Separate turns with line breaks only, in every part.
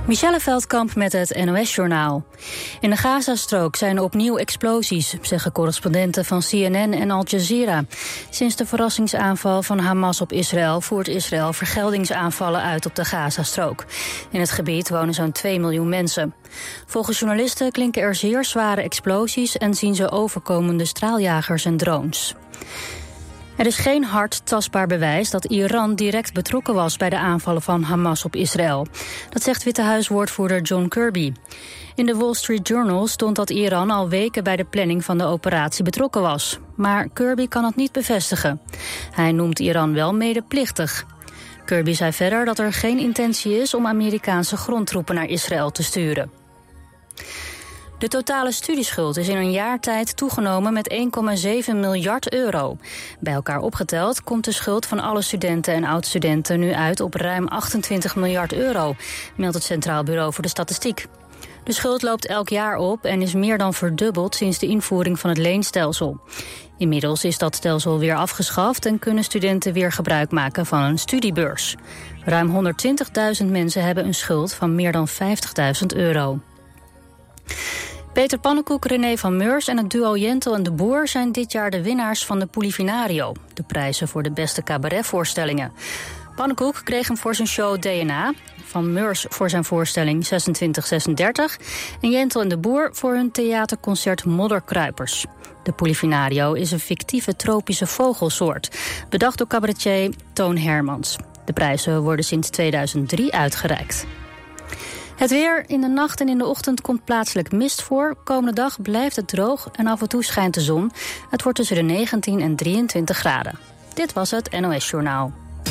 Michelle Veldkamp met het NOS-journaal. In de Gazastrook zijn opnieuw explosies, zeggen correspondenten van CNN en Al Jazeera. Sinds de verrassingsaanval van Hamas op Israël voert Israël vergeldingsaanvallen uit op de Gazastrook. In het gebied wonen zo'n 2 miljoen mensen. Volgens journalisten klinken er zeer zware explosies en zien ze overkomende straaljagers en drones. Er is geen hard tastbaar bewijs dat Iran direct betrokken was bij de aanvallen van Hamas op Israël. Dat zegt Witte Huiswoordvoerder John Kirby. In de Wall Street Journal stond dat Iran al weken bij de planning van de operatie betrokken was. Maar Kirby kan het niet bevestigen. Hij noemt Iran wel medeplichtig. Kirby zei verder dat er geen intentie is om Amerikaanse grondtroepen naar Israël te sturen. De totale studieschuld is in een jaar tijd toegenomen met 1,7 miljard euro. Bij elkaar opgeteld komt de schuld van alle studenten en oud-studenten nu uit op ruim 28 miljard euro, meldt het Centraal Bureau voor de Statistiek. De schuld loopt elk jaar op en is meer dan verdubbeld sinds de invoering van het leenstelsel. Inmiddels is dat stelsel weer afgeschaft en kunnen studenten weer gebruik maken van een studiebeurs. Ruim 120.000 mensen hebben een schuld van meer dan 50.000 euro. Peter Pannenkoek, René van Meurs en het duo Jentel en de Boer zijn dit jaar de winnaars van de Polifinario, de prijzen voor de beste cabaretvoorstellingen. Pannenkoek kreeg hem voor zijn show DNA, Van Meurs voor zijn voorstelling 2636 en Jentel en de Boer voor hun theaterconcert Modderkruipers. De Polifinario is een fictieve tropische vogelsoort, bedacht door cabaretier Toon Hermans. De prijzen worden sinds 2003 uitgereikt. Het weer. In de nacht en in de ochtend komt plaatselijk mist voor. Komende dag blijft het droog en af en toe schijnt de zon. Het wordt tussen de 19 en 23 graden. Dit was het NOS Journaal.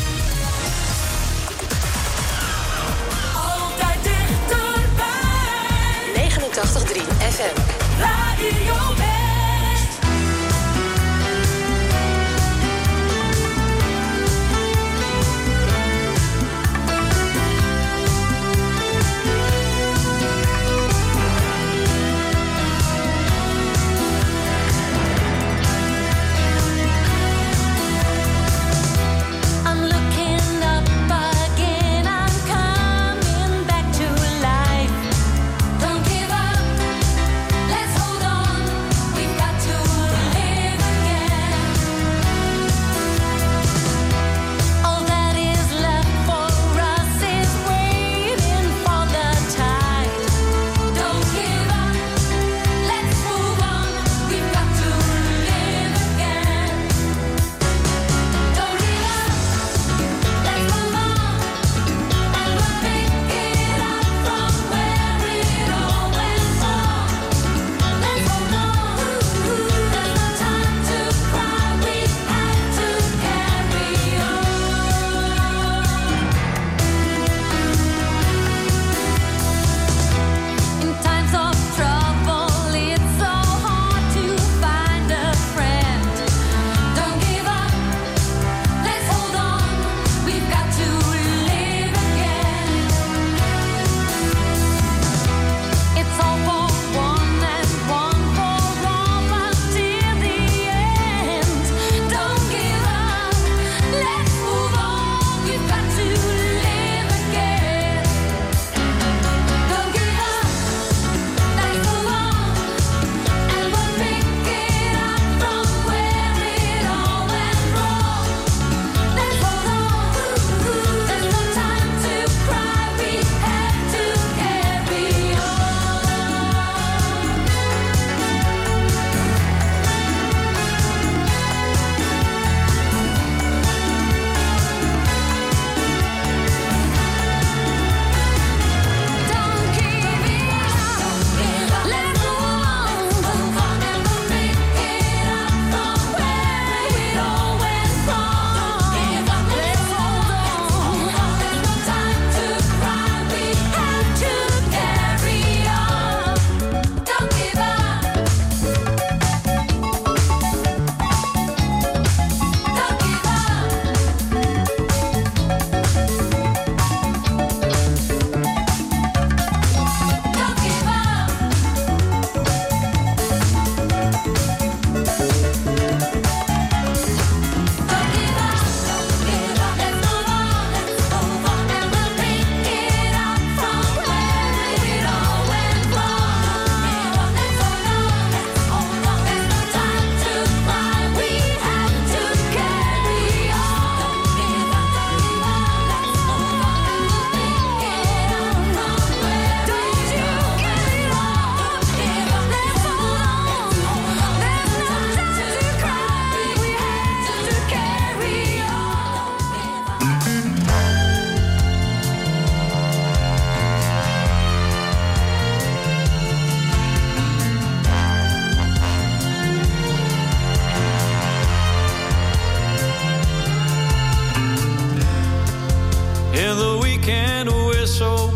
Altijd dichterbij.
89.3 FM.
Radio West.
We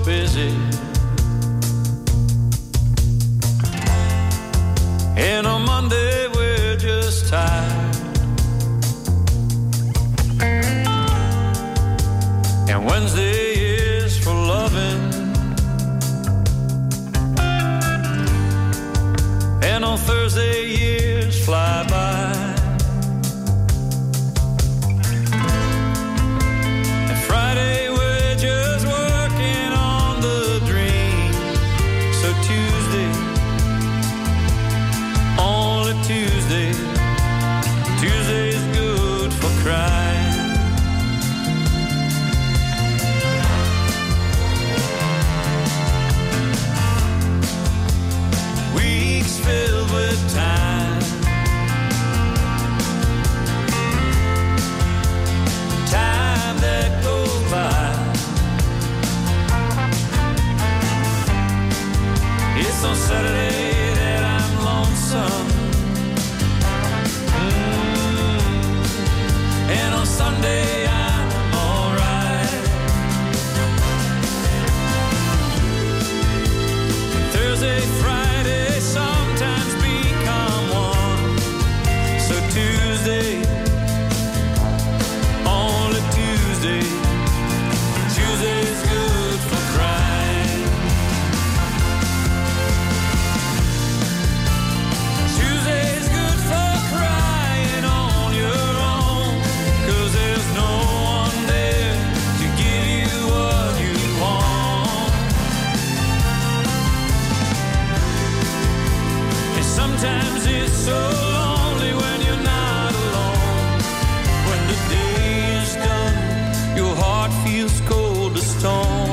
busy. And on Monday we're just tired. And Wednesday is for loving. And on Thursday years fly by. And Friday we're just working on the dream. So Tuesday, only Tuesday, Tuesday's good for crying. Filled with time, time that goes by. It's on Saturday that I'm lonesome, and on Sunday I'm alright. Thursday, Friday, sometimes become one. So Tuesday, only Tuesday, Tuesday's good for crying. Tuesday's good for crying on your own, 'cause there's no one there to give you what you want. And sometimes it's so lonely when you're not alone. When the day is done, your heart feels cold as stone.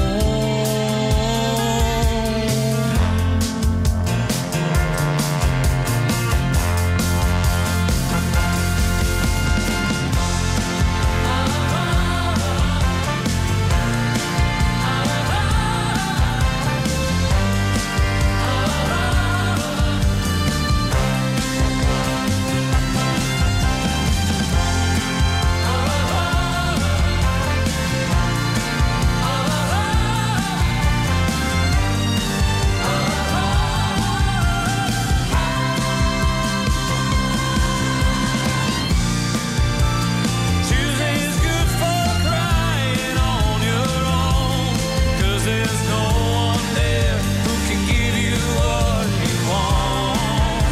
Tuesday's good for crying on your own, 'cause there's no one there who can give you what you want.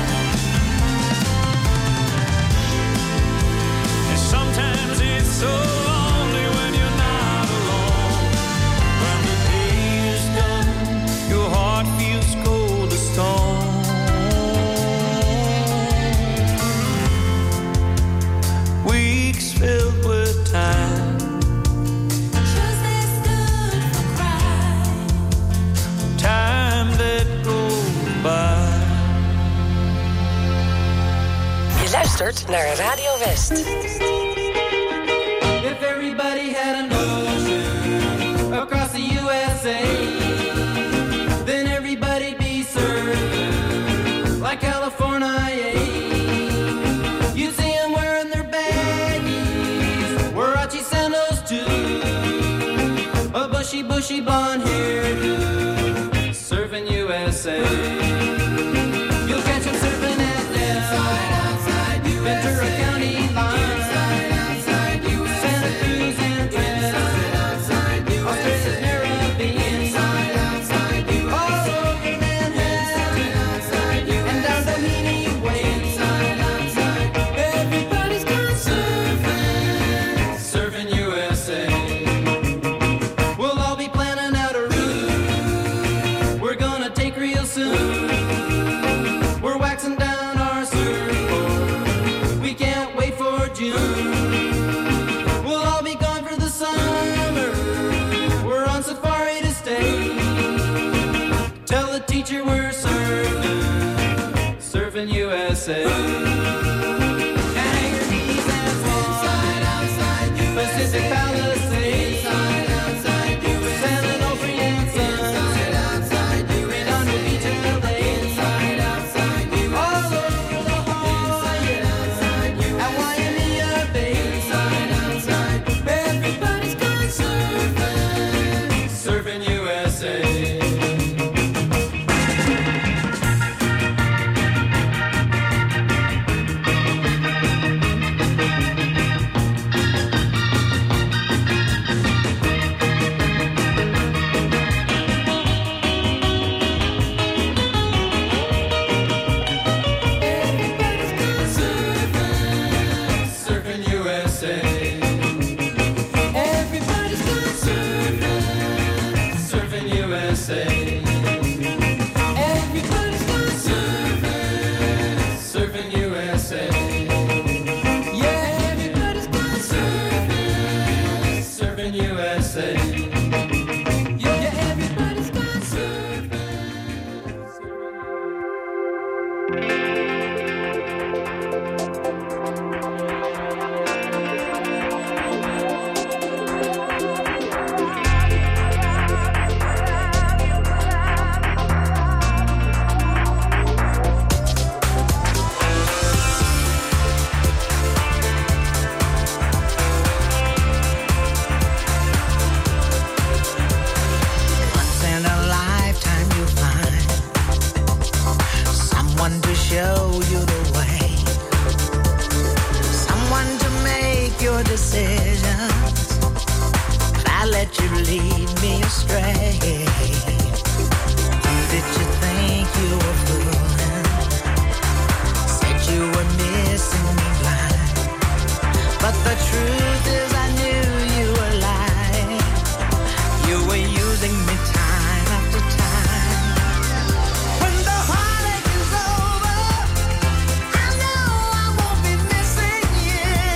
And sometimes it's so lonely when you're not alone. When the day is done, your heart feels cold as stone. Weeks filled with time,
Tuesday's good for crying.
time that goes by.
Je luistert naar Radio West.
If everybody had an ocean across the USA, then everybody'd be served like California. You see them wearing their baggies, Warachi sandals too, a bushy blonde hairdo, surfing USA. You'll catch them surfing at Ventura County line, Santa Cruz and Trent, Australia's Caribbean, all over Manhattan, and down Doheny Way. Everybody's gone surfing, surfing USA. We'll all be planning out a route we're gonna take real soon. We're waxing down our surfboard, we can't wait for June. We'll all be gone for the summer, we're on safari to stay. Tell the teacher we're surfing, surfing USA. Hangers and Swans, Pacific Palisades, San Onofre and Sons, Redondo Beach and LA, all over La Jolla, at Waimea Bay. Everybody's gone surfing, surfing USA.
me time after time. When the heartache is over, I know I won't be missing you.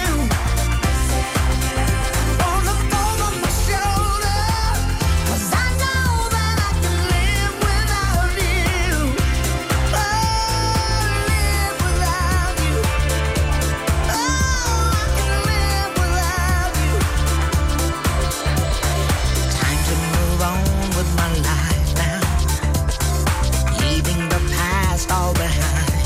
Won't look over my shoulder, 'cause I know that I can live without you. Oh, live without you. Oh, I can live without you. Time to move on with my life now, leaving the past all behind.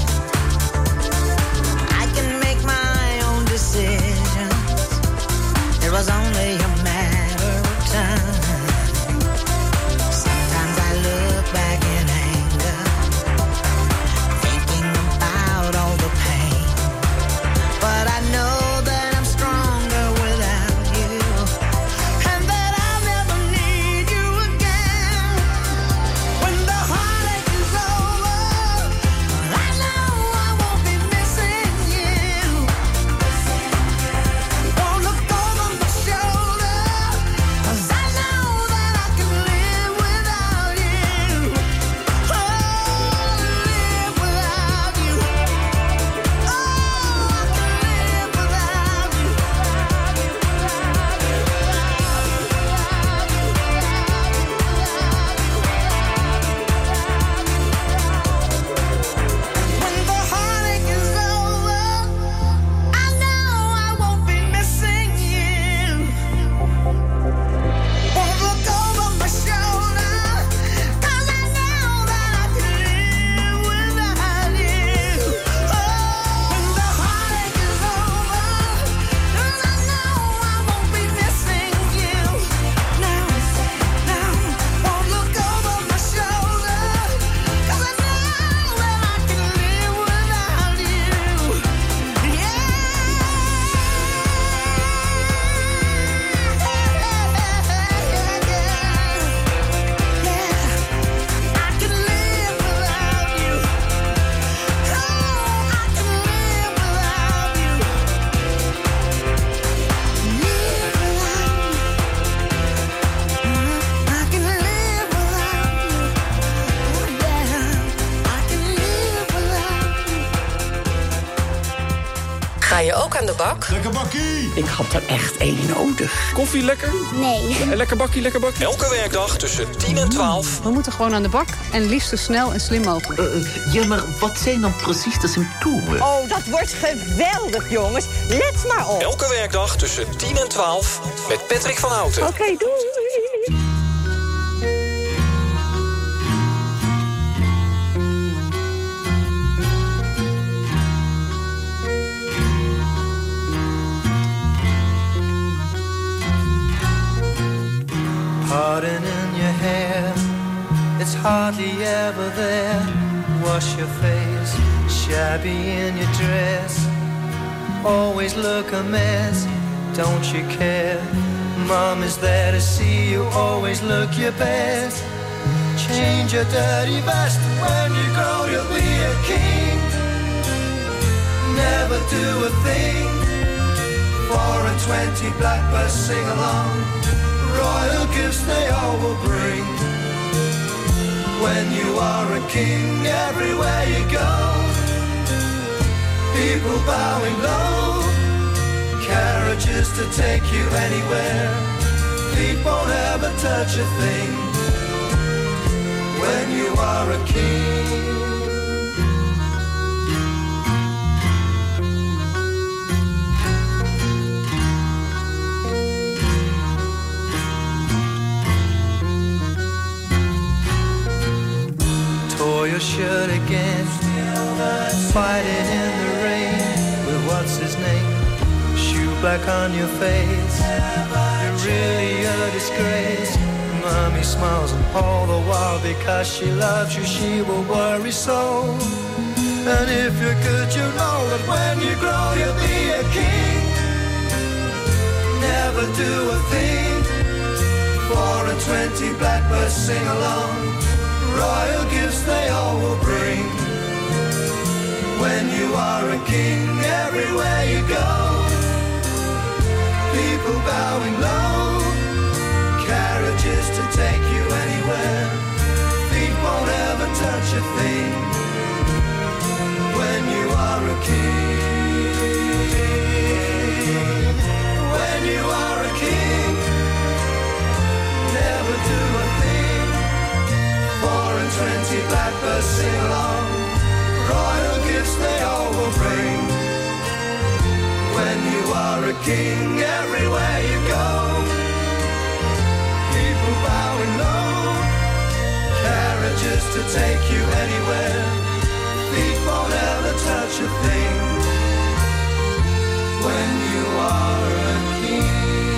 I can make my own decisions. It was only a matter of time. Sometimes I look back in anger, thinking about all the pain. But I know that I'm stronger without you, and that I'll never need you again. When the heartache is over, I know I won't be missing you. Won't look over my shoulder, 'cause I know that I can live without you. Oh, live without you. Oh, I can live without you. When the heartache is over, I know I won't be missing you. Won't look over my shoulder, 'cause I know that I can live without you. Oh, when the heartache is over, 'cause I know I won't be missing you. Now, won't look over my shoulder, 'cause I know that I can live without you. I can live without you. Oh, I can live without you. Live without you. I can live without you. Oh yeah, I can live without you.
Ga je ook aan de bak?
Lekker bakkie!
Ik had er echt één nodig.
Koffie lekker?
Nee.
Lekker bakkie, lekker bakkie. Elke werkdag tussen 10 en 12.
We moeten gewoon aan de bak en liefst zo snel en slim mogelijk.
Ja, maar wat zijn dan precies de symptomen?
Oh, dat wordt geweldig, jongens. Let maar op.
Elke werkdag tussen 10 en 12 met Patrick van Houten.
Oké, doei.
Pardon in your hair, it's hardly ever there. Wash your face, shabby in your dress. Always look a mess, don't you care? Mom is there to see you, always look your best. Change your dirty vest, when you grow you'll be a king. Never do a thing, 4 and 20 blackbirds sing along. Royal gifts they all will bring. When you are a king, everywhere you go, people bowing low, carriages to take you anywhere, feet won't ever touch a thing. When you are a king. Tore your shirt again, fighting in the rain with what's his name, shoe black on your face. You're really a disgrace. Mommy smiles and all the while because she loves you, she will worry so. And if you're good, you know that when you grow you'll be a king. Never do a thing, 4 and 20 blackbirds sing along. Royal gifts they all will bring. When you are a king, everywhere you go, people bowing low, carriages to take you anywhere. king everywhere you go. People bowing low, carriages to take you anywhere. Feet won't ever touch a thing when you are a king.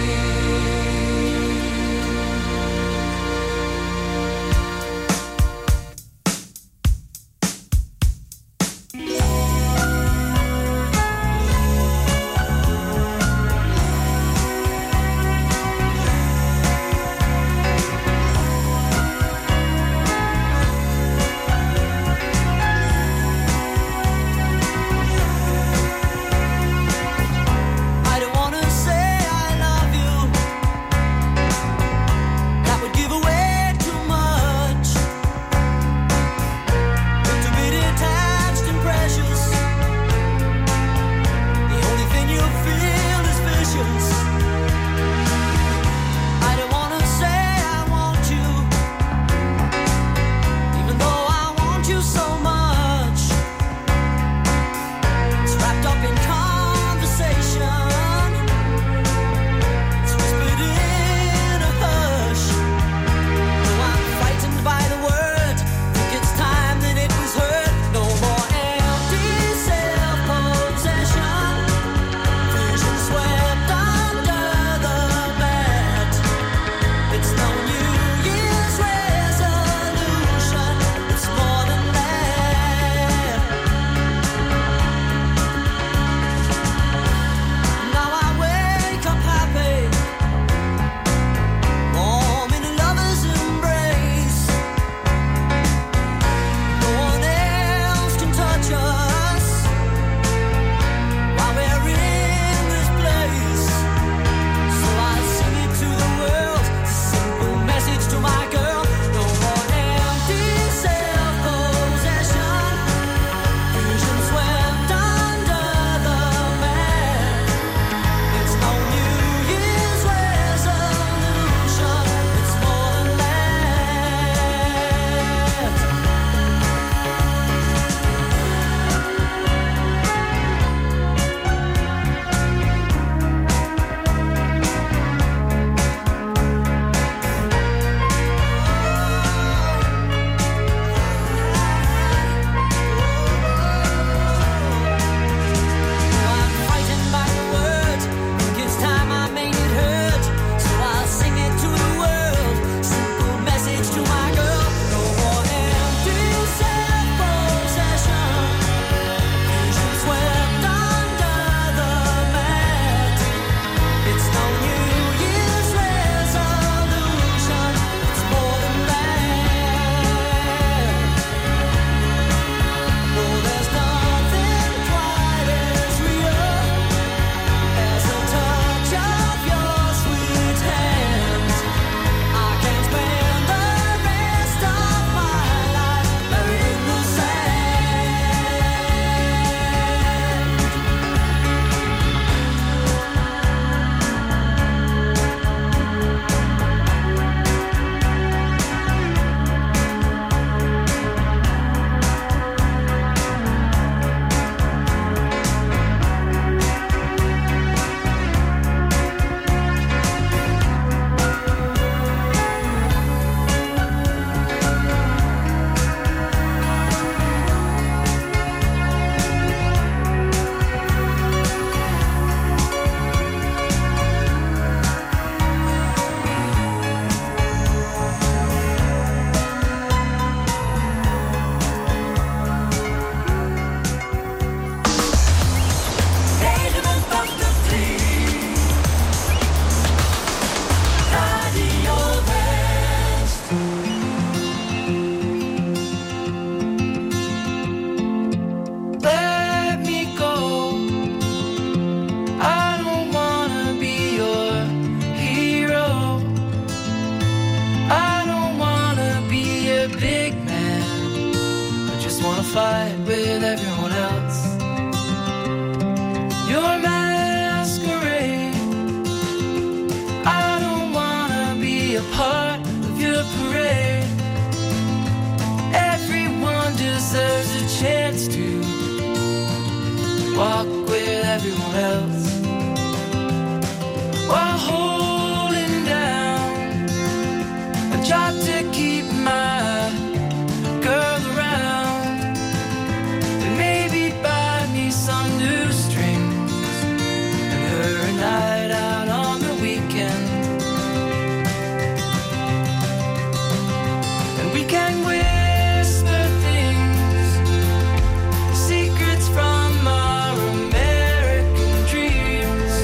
fight with everyone else. Your masquerade, I don't wanna be a part of your parade. Everyone deserves a chance to walk with everyone else. We can whisper things, secrets from our American dreams.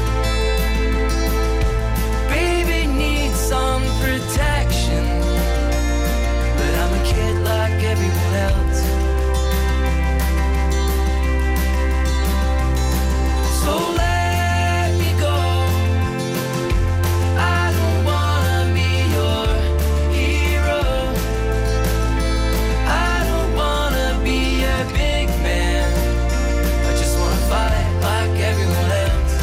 Baby needs some protection, but I'm a kid like everyone else. So let me go. I don't wanna be your hero. I don't wanna be a big man. I just wanna fight like everyone else.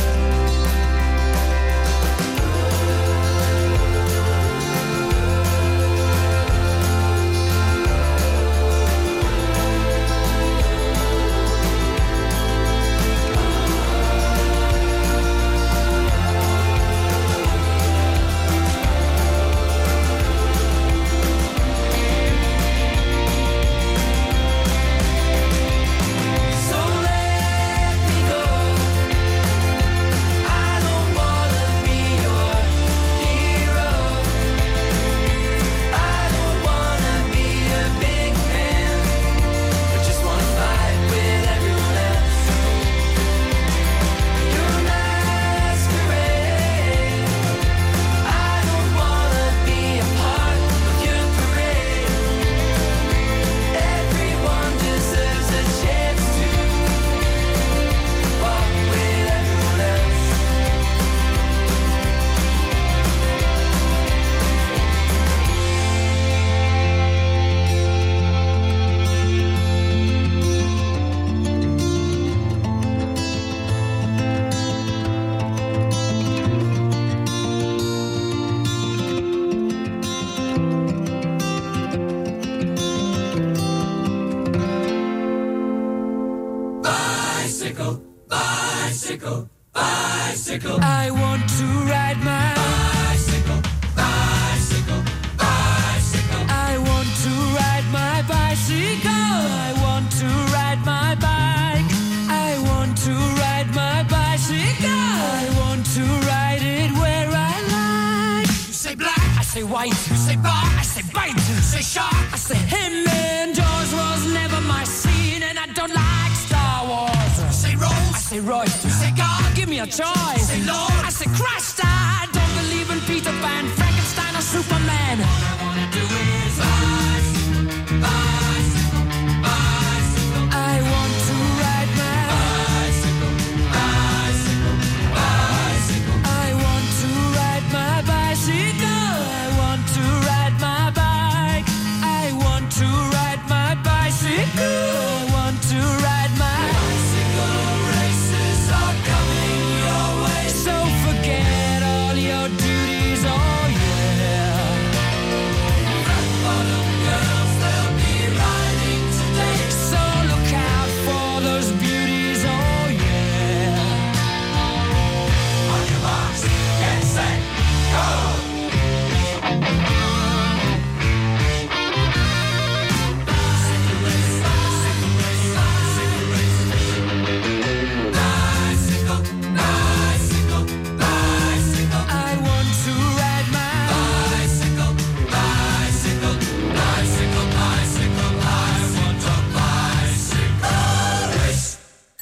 So let me go. I don't wanna be your hero. I don't wanna be a big man. I just wanna fight with everyone else. Your masquerade. I don't wanna be a part of your parade. Everyone deserves a chance to walk with everyone else. Bicycle, bicycle, bicycle. I want to ride my bicycle, bicycle, bicycle. I want to ride my bicycle. I want to ride my bike. I want to ride my bicycle. I want to ride it where I like. You say black, I say white. You say bar, I say bite. You say shark, I say him. And Jaws was never my scene, and I don't like Star Wars. You say Rose, I say Royce. You say God, give me a choice. You say Lord, I say Christ. I don't believe in Peter Pan, Frankenstein, or Superman. All I wanna do is bicycle, bicycle, bicycle. I want to ride my bicycle, bicycle, bicycle. I want to ride my bicycle. I want to ride my bike. I want to ride my bicycle. I want to ride my bicycle. Races are coming your way, so forget all your duties. Oh yeah. Fat bottom girls, they'll be riding today, so look out for those beauties. Oh yeah. On your marks, get set, go. Bicycle, bicycle, bicycle. I want to ride my bicycle, bicycle, bicycle, bicycle. I want a bicycle race.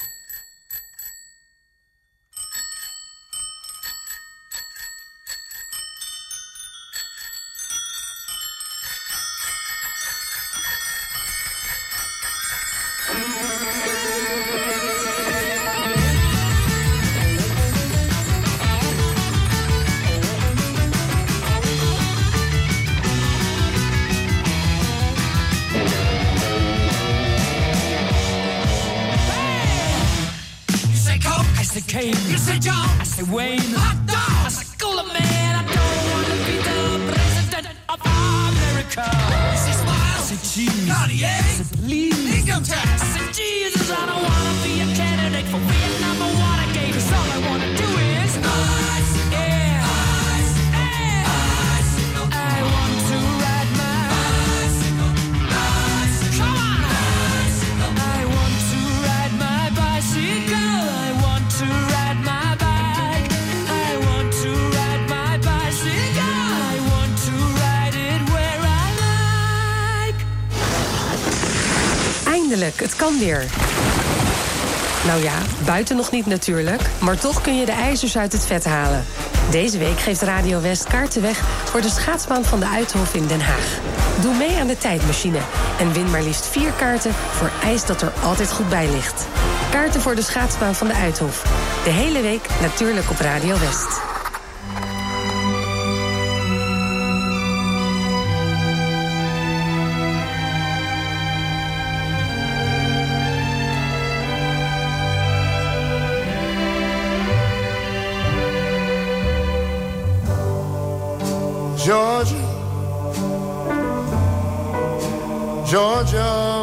You say Coke, I say Kane. You say John, I say Wayne. Hot dog, I say Cooler Man. I don't wanna be the president of America. You say Smile, I say Cheese. Cartier, I say Please. Income tax, I say Jesus. I don't wanna be a candidate for Vietnam or Watergate. 'Cause all I wanna do is bicycle, yeah, bicycle, bicycle. I want to ride my bicycle, bicycle. Come on, bicycle. I want to ride my bicycle. I want to ride my bike. I want to ride my bicycle. I want to ride it where I like.
Eindelijk, het kan weer. Nou ja, buiten nog niet natuurlijk, maar toch kun je de ijzers uit het vet halen. Deze week geeft Radio West kaarten weg voor de schaatsbaan van de Uithof in Den Haag. Doe mee aan de tijdmachine en win maar liefst 4 kaarten voor ijs dat er altijd goed bij ligt. Kaarten voor de schaatsbaan van de Uithof. De hele week natuurlijk op Radio West.
Georgia, Georgia,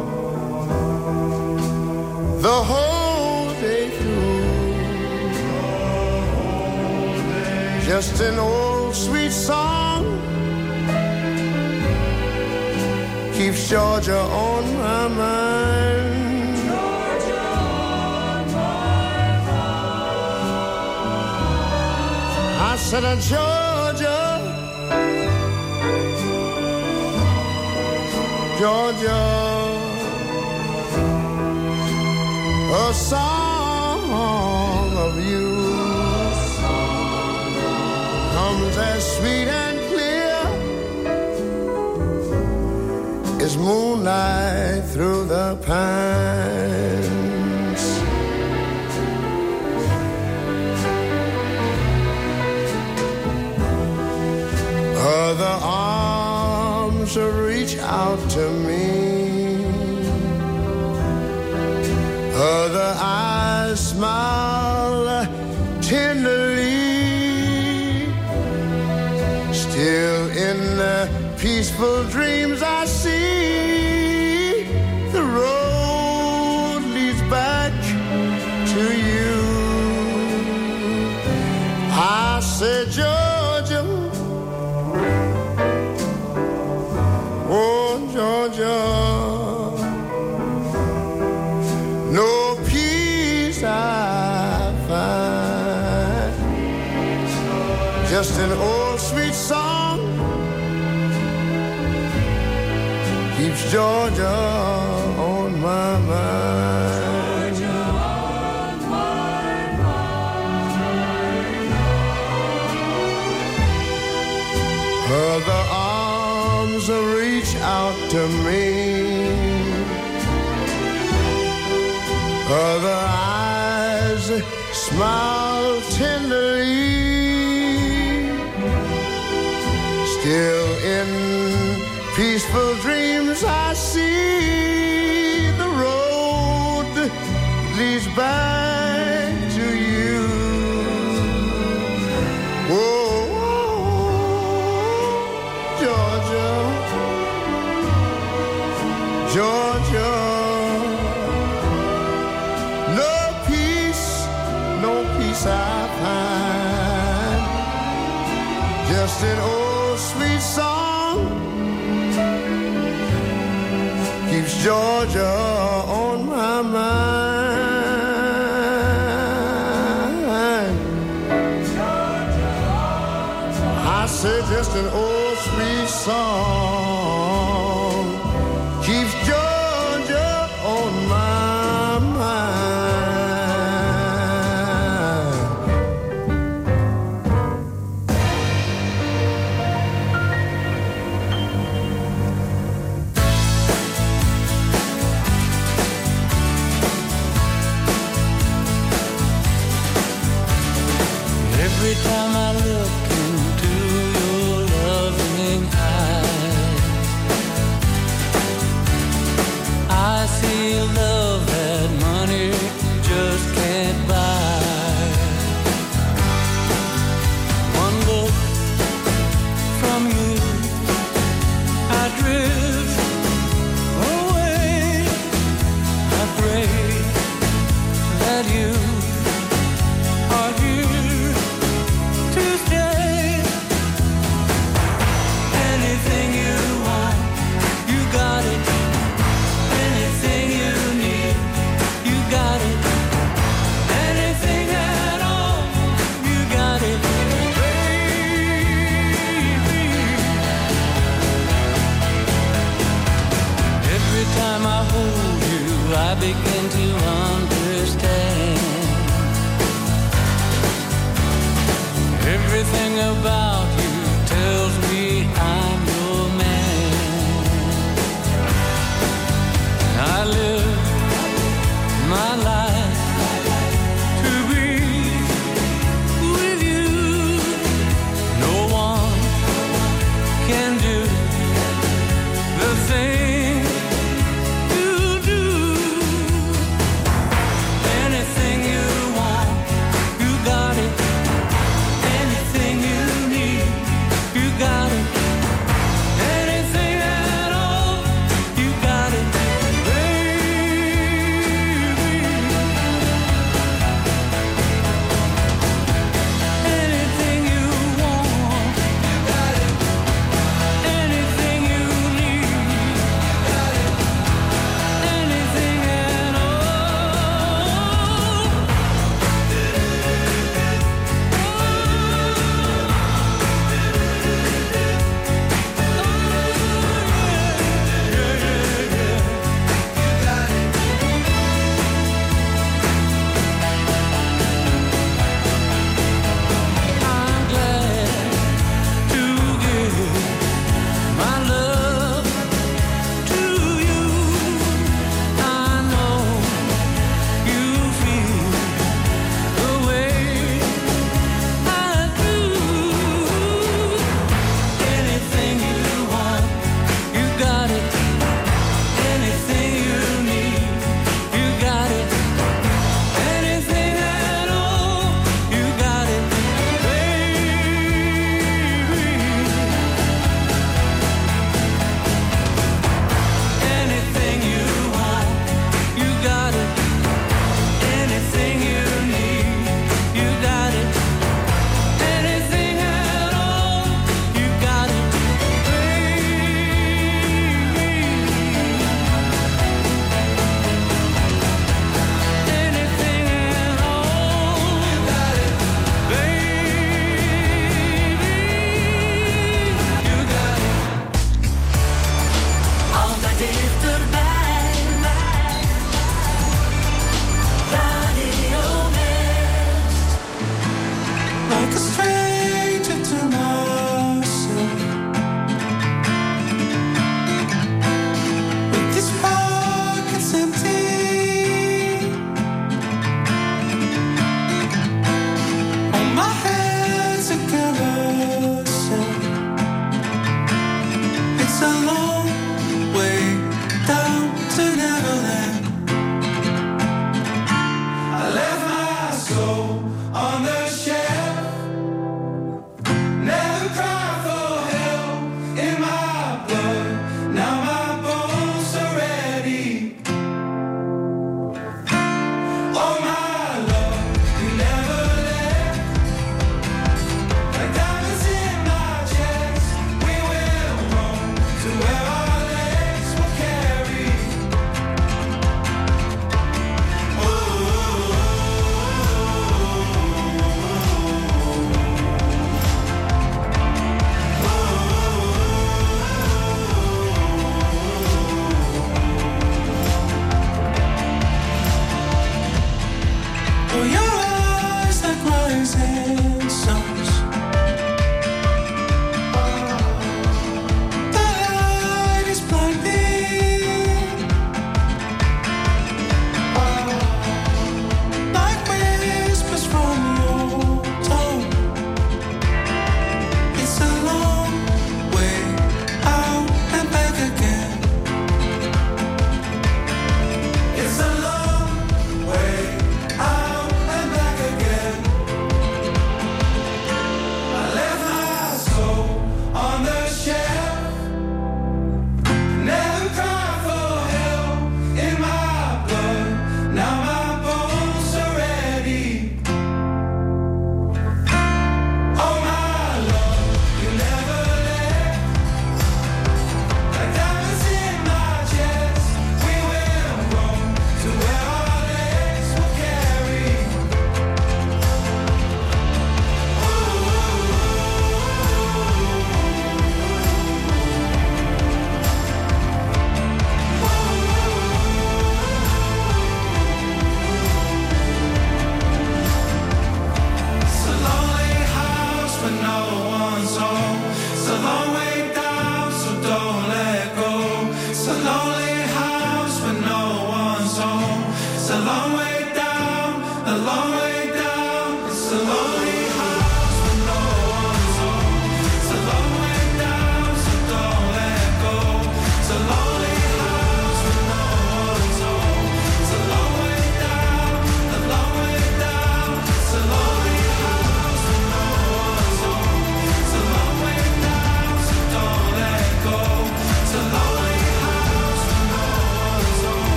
the whole day through, just an old sweet song keeps Georgia on my mind. Georgia on my mind. I said, Georgia, Georgia, a song of you comes as sweet and clear as moonlight through the pines. Other arms reach out to me, other eyes smile tenderly. Still in the peaceful dreams I see, the road leads back to you. I said, Georgia, oh Georgia, no peace I find, just an old sweet song keeps Georgia on my mind. Georgia on my mind. Other arms reach out to me, other eyes smile tenderly. Still in peaceful dreams I see, the road leads back to you. Oh, Georgia, Georgia, no peace I find, just an old sweet song keeps Georgia on my mind. I said just an old sweet song keeps Georgia on my mind.
Every time I look into your loving eyes, I begin to understand everything about you tells me I'm your man. I live my life to be with you. No one can do the thing you do. Anything you want, you got it. Anything you need, you got it. Anything at all, you got it, baby. Anything you want, you got it. Anything you need, you got it. Anything at all. I'm glad to give my love to you. I know you feel the way I do. Anything you want, you got it. Anything you need, you got it. Anything at all, you got it, baby. Anything you want, you got it. Anything you need, you got it. Anything at all, you got it, baby. Anything at all, you got it, baby. You got it.
Altijd dichterbij. Radio West.
Like a stranger to myself. With these pockets empty, on my head's a carousel. It's a long way down to Neverland. I left my soul on the shelf. Never cried for help in my blood. Now my bones are ready. Oh my love, you never left. Like diamonds in my chest, we will roam to where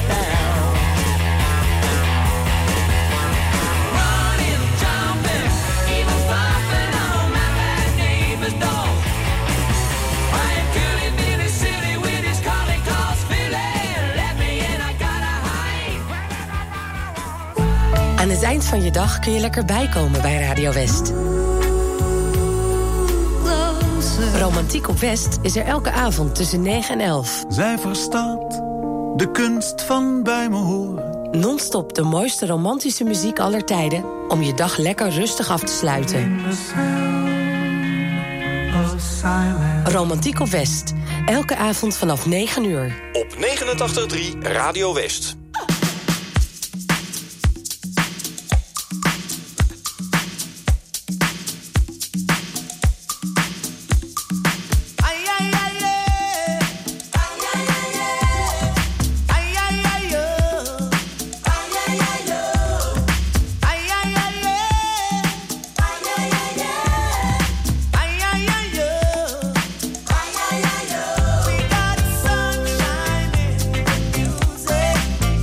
down. Running, jumping, even flopping on my bad neighbor's door. Ryan Cooley, Billy City with his calling calls Philly. Let me in, I gotta hide.
Aan het eind van je dag kun je lekker bijkomen bij Radio West. Romantiek op West is er elke avond tussen 9 en 11.
Zij verstaat de kunst van bij me horen.
Non-stop de mooiste romantische muziek aller tijden om je dag lekker rustig af te sluiten. Romantiek op West. Elke avond vanaf 9 uur.
Op 89.3 Radio West.
We got sunshine in the music.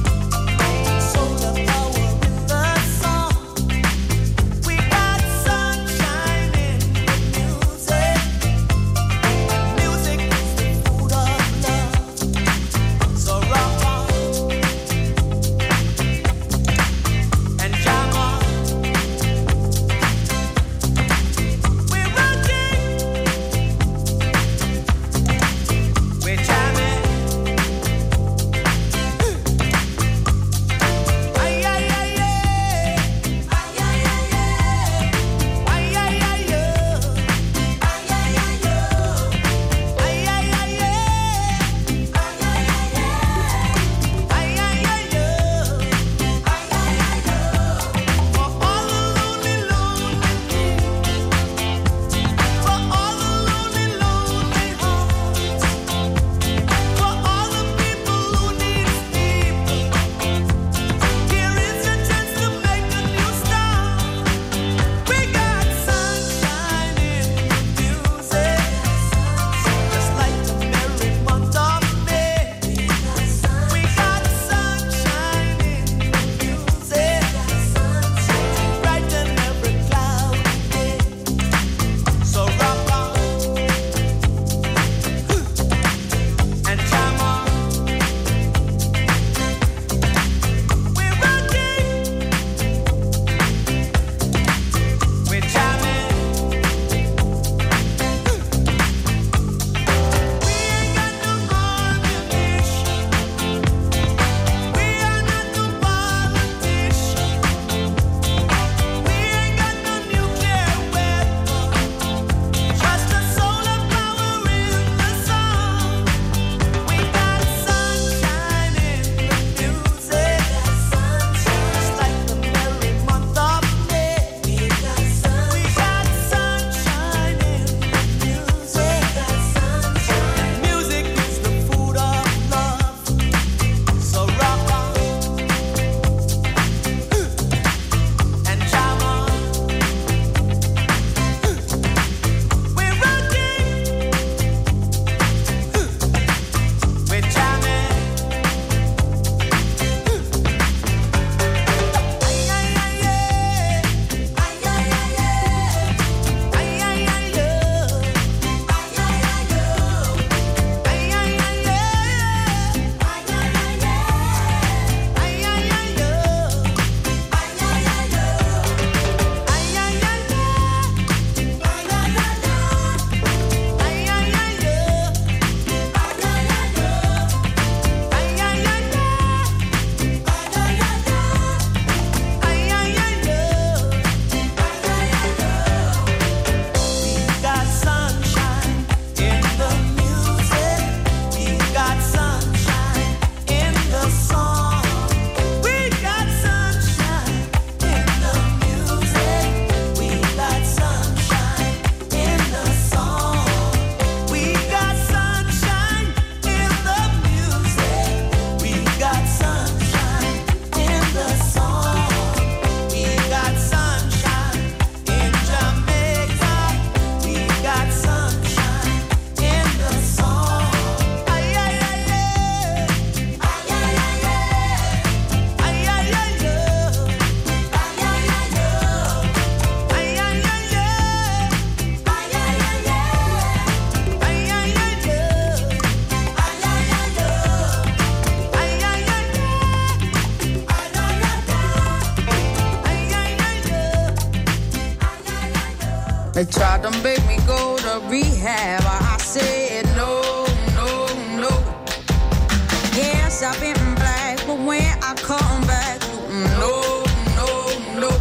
They tried to make me go to rehab. I said no, no, no. Yes, I've been black, but when I come back, no, no, no.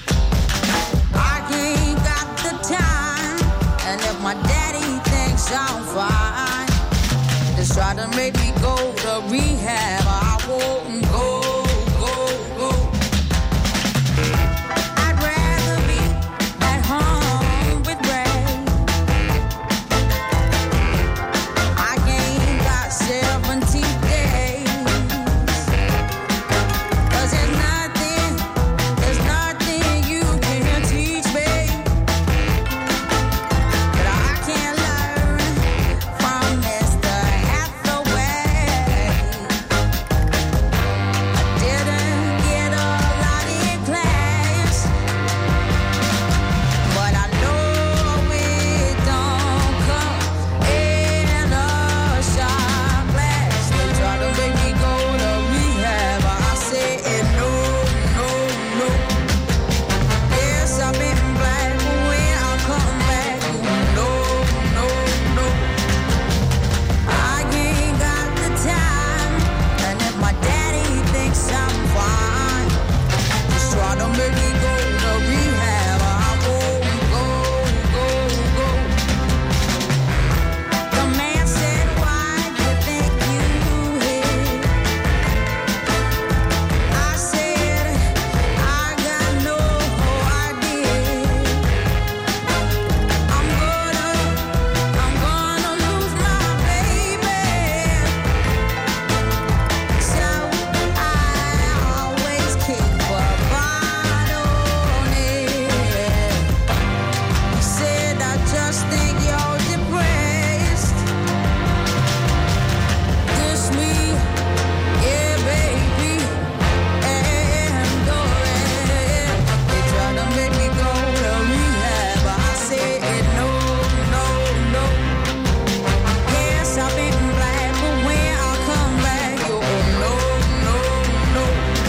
I ain't got the time, and if my daddy thinks I'm fine, they try to make me go to rehab. I won't go, go, go. I'd rather be at home with Ray. I ain't got 70 days. 'Cause there's nothing you can teach me that I can learn from Mr. Hathaway. I didn't get a lot in class, but I know it don't come in a shot glass. They try to make me go to rehab. I said no, no, no. Yes, I've been black, but when I come back, no, no, no. I ain't got the time, and if my daddy thinks I'm fine, just try to make me go to rehab. I won't go, go, go. The man said, why do you think you hit? I said, I got no idea. I'm gonna lose my baby. So I always keep a bottle on it. He said, I just think you're depressed. This me, yeah, baby, and go ahead. They try to make me go to rehab. I said no, no, no. Yes, I've been black, but when I come back, you're no, no, no.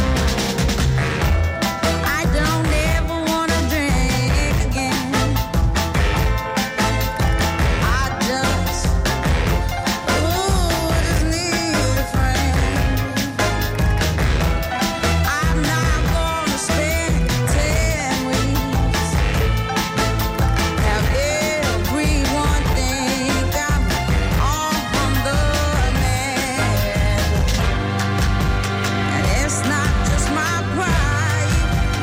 I don't ever wanna drink again. I just need a friend. I'm not gonna spend 10 weeks. Have everyone think I'm on the man. And it's not just my pride.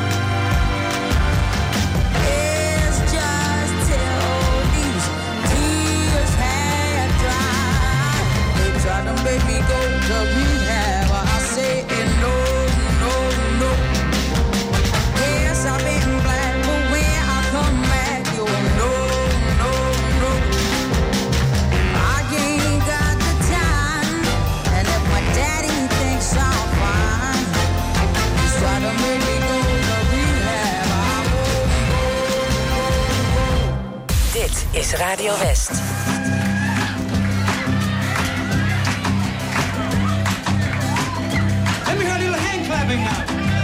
It's just till these tears had dried. They try to make me go to rehab. I say no, no, no. Yes, I've been black, but when I come back, you're no, no, no. I ain't got the time, and if my daddy thinks I'm fine, he's trying to make me go to rehab. I won't go.
Dit is Radio West.
Let me hear a little hand clapping now.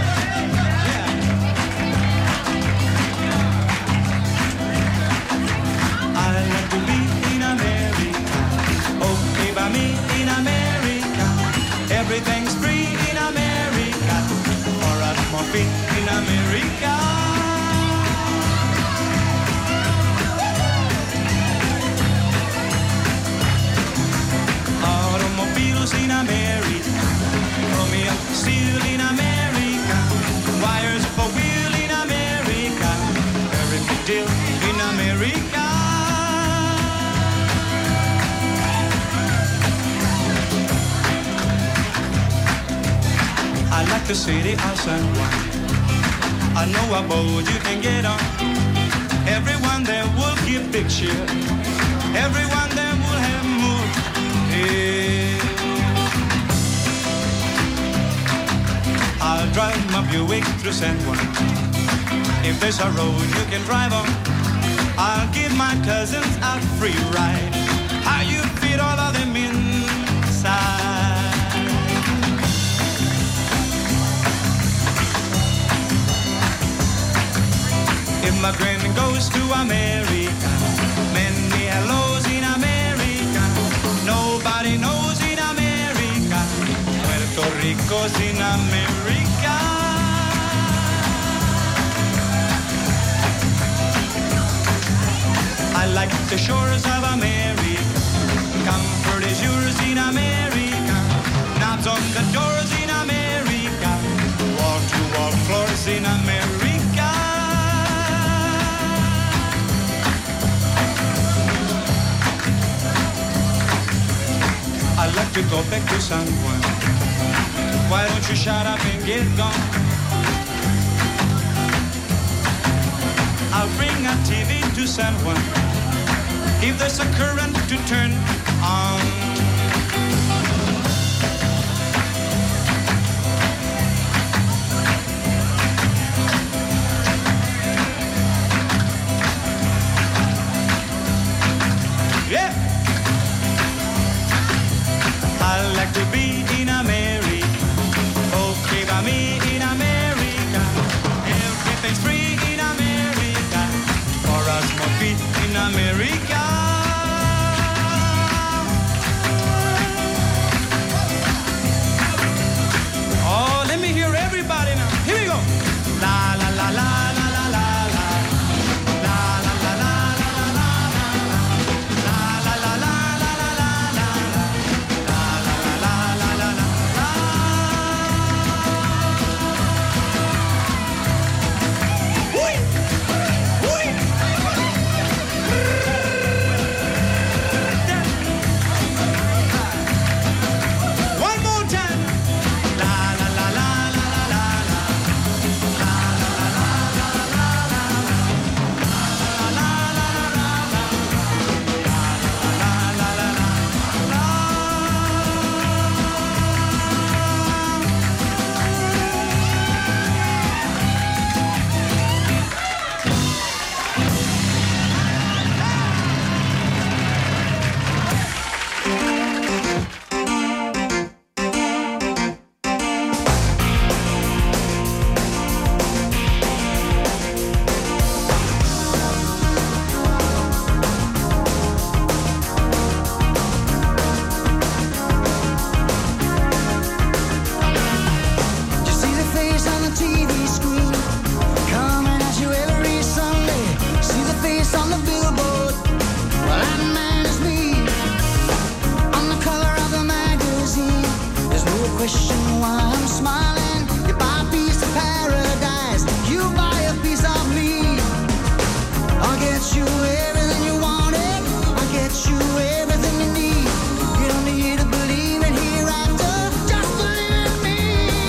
I like to be in America. Okay, by me in America. Everything's free in America. Or a more free in America. Automobiles in America. Chromium steel in America. Wires for wheel in America. Every big deal in America. I like the city of San Juan. I know a boat you can get on. Everyone there will give big cheer. Everyone there will have mood. Yeah. I'll drive my Buick through San Juan. If there's a road you can drive on, I'll give my cousins a free ride. How you fit all of them inside? If Immigrant goes to America. Many hellos in America. Nobody knows in America. Puerto Rico's in America. I like the shores of America. Comfort is yours in America. Knobs on the doors in America. Wall-to-wall floors in America. I'd like to go back to San Juan. Why don't you shut up and get gone? I'll bring a TV to San Juan. If there's a current to turn on. Yeah! I like to be in America. Okay by me in America. Everything's free in America. For us more feet in America. Oh, let me hear everybody now. Here we go. La la la la la la la la. La la la la la la la la. La la la la la la la la. La la la la la la la. Ui! Ui! One more time. La la la la la la la la. La la la la la la la. La la la la la la. La la la la la.
You see the face on the TV screen, coming at you every Sunday. See the face on the billboard, well that man is me. On the cover of the magazine, there's no question why I'm smiling. You buy a piece of paradise, you buy a piece of me. I'll get you everything you wanted, I'll get you everything you need. You don't need to believe in hereafter, just believe in me.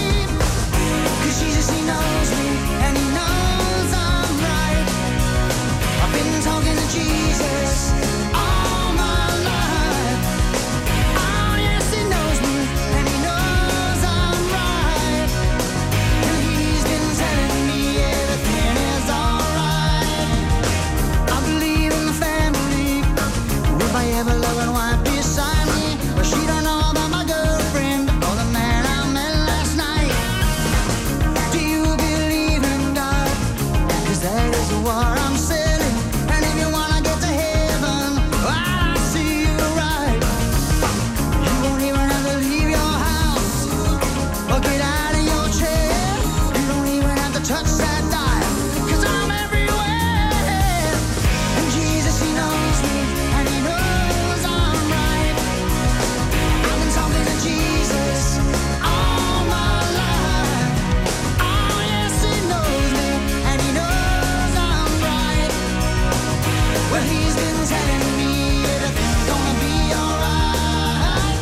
'Cause Jesus, he knows me, and he knows I'm right. I've been talking to Jesus all my life. Oh yes, he knows me, and he knows I'm right. And he's been telling me everything is alright. I believe in the family, with my ever-loving wife beside me. But she don't know about my girlfriend or the man I met last night. Do you believe in God? 'Cause that is what I'm selling. And if you wanna get to heaven, I see you right. You won't even have to leave your house or get out of your chair. You don't even have to touch that dial, 'cause I'm everywhere. And Jesus, he knows me, and he knows I'm right. I've been talking to Jesus all my life. Oh yes, he knows me, and he knows I'm right. Well, he's been telling me everything's gonna be alright.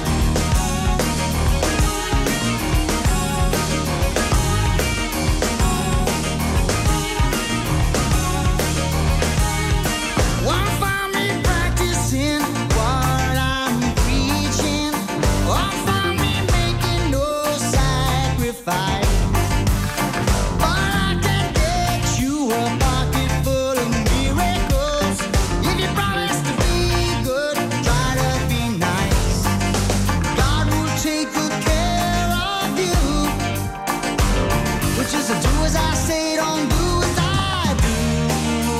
Won't find me practicing what I'm preaching. Won't find me making no sacrifice. But I can get you a pocket full of miracles. If you promise to be good, try to be nice. God will take good care of you. But just do as I say, don't do as I do.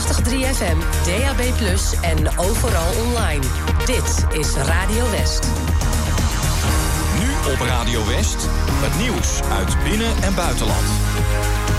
89.3 FM, DAB+, en overal online. Dit is Radio West.
Nu op Radio West, het nieuws uit binnen- en buitenland.